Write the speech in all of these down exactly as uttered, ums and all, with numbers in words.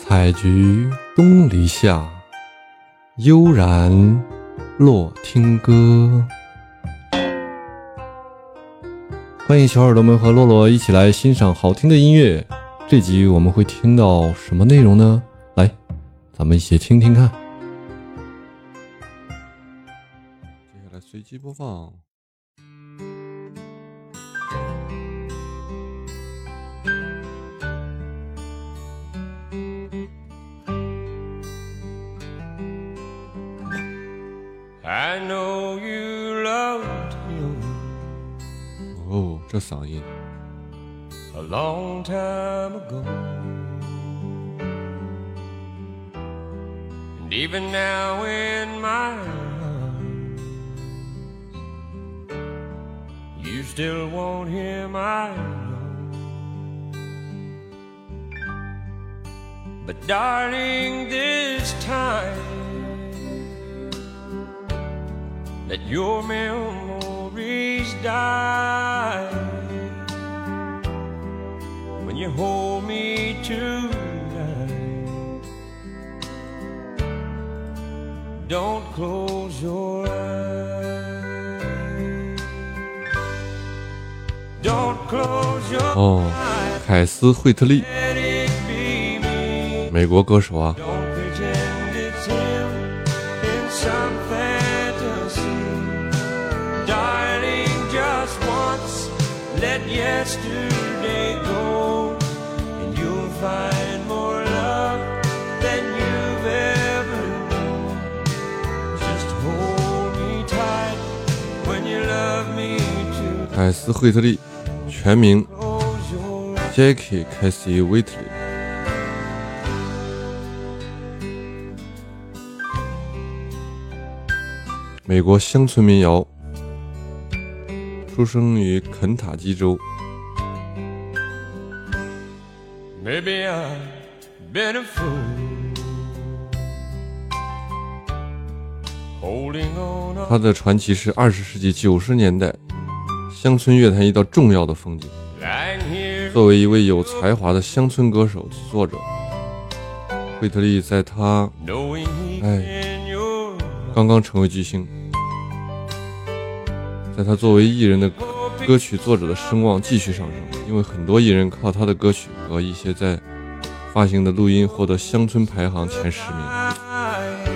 采菊东篱下，悠然落听歌。欢迎小耳朵们和洛洛一起来欣赏好听的音乐。这集我们会听到什么内容呢？来，咱们一起听听看。接下来随机播放。 I know you loved him 哦，这嗓音 a long time ago, and even now in my arms, you still want him, I know. But darling, this time let your memories die when you hold me tonight. Don't close your eyes. Don't close your 哦，凯斯·惠特利， eyes. Let it be me. 美国歌手啊。 Don't pretend it's him in some fantasy. Darling, just once, let yesterday go, and you'll find more love than you've ever known. Just hold me tight when you love me too. 凯斯·惠特利，全名 Close your eyes. Jackie Casey Whitley， 美国乡村民谣，出生于肯塔基州。 Maybe I've been a fool, holding on. 他的传奇是二十世纪九十年代乡村乐坛一道重要的风景。 Lying here 作为一位有才华的乡村歌手、作者，惠特利在他 knowing he's Hey. in your 刚刚成为巨星，在他作为艺人的歌曲作者的声望继续上升，因为很多艺人靠他的歌曲和一些在发行的录音获得乡村排行前十名。 eyes.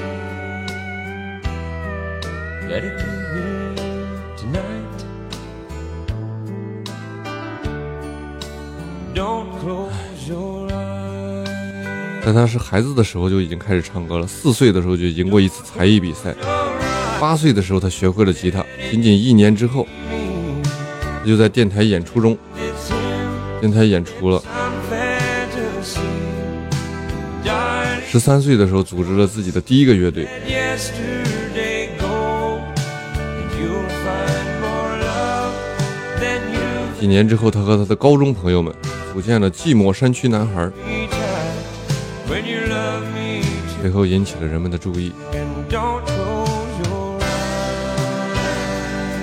Let it be me tonight. Don't close your eyes. 在他是孩子的时候就已经开始唱歌了，四岁的时候就赢过一次才艺比赛，八岁的时候他学会了吉他，仅仅一年之后，他就在电台演出中， It's him, 电台演出了。 some fantasy. Darling, 十三岁的时候组织了自己的第一个乐队， let yesterday go, and you'll find more love than you've 几年之后，他和他的高中朋友们组建了寂寞山区男孩， been tied when you love me too. 随后引起了人们的注意。 And don't close your eyes.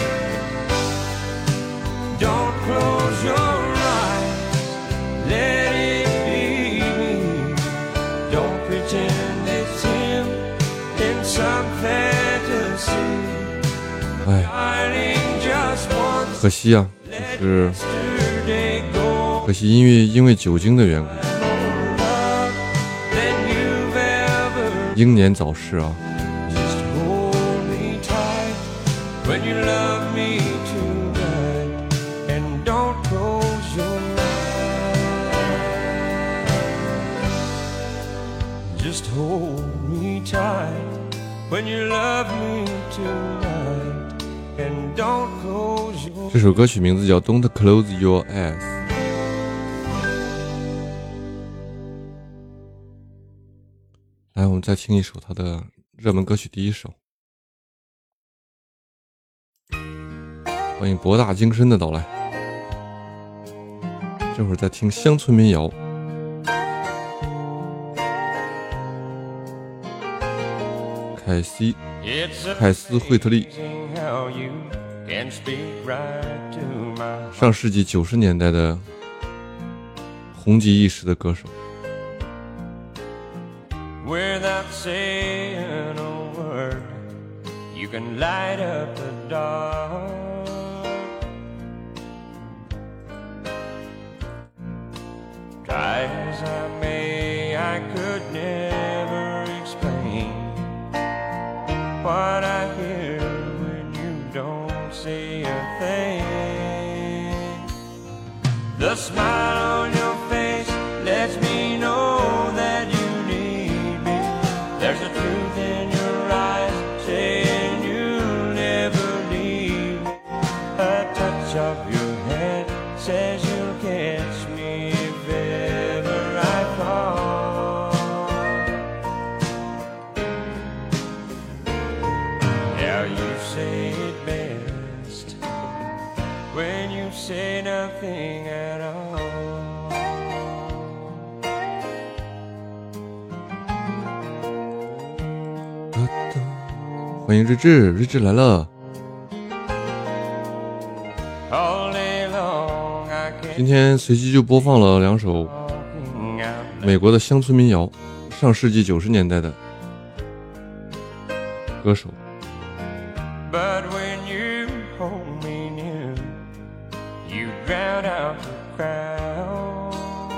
Don't close your eyes. Let it be me. Don't pretend it's him in some fantasy. 哎， Darling, just once, 可惜啊，就是 yesterday go. 可惜音乐因为酒精的缘故， More love than you've ever. 英年早逝啊。 Just hold me tight when you love me tonight, and don't close your eyes. Just hold me tight when you love me tonight, and don't close your 这首歌曲名字叫《Don't Close Your Eyes》。来，我们再听一首他的热门歌曲第一首。欢迎博大精深的到来。这会儿在听乡村民谣。凯西 It's 凯斯·惠特利， amazing how you can speak right to my 上世纪九十年代的红极一时的歌手。 saying a word, you can light up the dark. Try as I may, I could never explain what I hear when you don't say a thing. The smile on your face lets me know that you need me. There's a truth in your eyes saying you'll never leave me. A touch of your hand says you'll catch me if ever I fall. Now you say it best when you say nothing at all. 欢迎日志，日志来了。今天随机就播放了两首美国的乡村民谣，上世纪九十年代的歌手。 But when you hold me near, you drown out the crowd.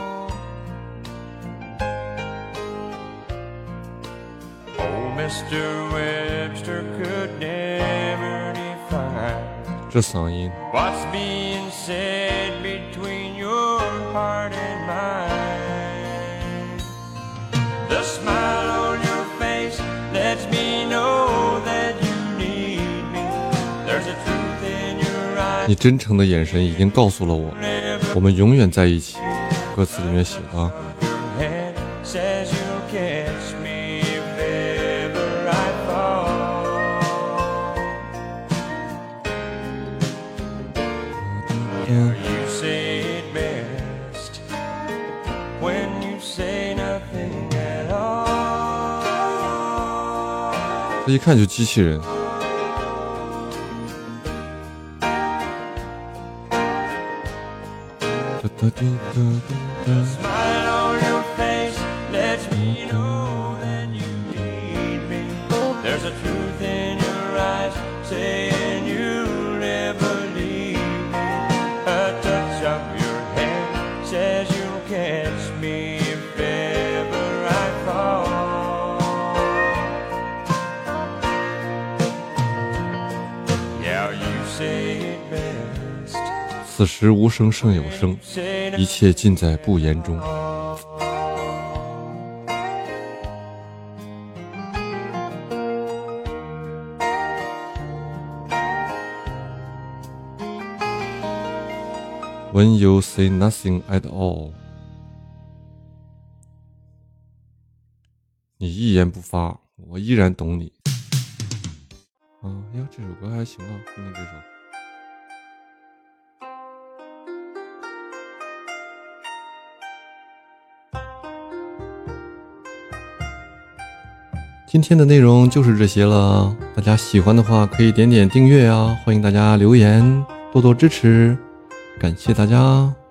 Oh, Mister Webster could never define 这嗓音 what's being said between your heart and mine. The smile on your face lets me know that you need me. There's a truth in your eyes. 你真诚的眼神已经告诉了我，我们永远在一起。歌词里面写的啊。 Says you'll catch me if ever I fall. You say it best when you say nothing at all. 这一看就机器人。 Smile on your face lets me know that you need me. There's a truth in your eyes saying you'll never leave me. A touch of your hand says you'll catch me if ever I fall. Yeah, you say it best. 此时无声胜有声，一切尽在不言中。When you say nothing at all， 你一言不发，我依然懂你。啊呀，这首歌还行啊，听听这首。今天的内容就是这些了，大家喜欢的话可以点点订阅啊，欢迎大家留言，多多支持，感谢大家。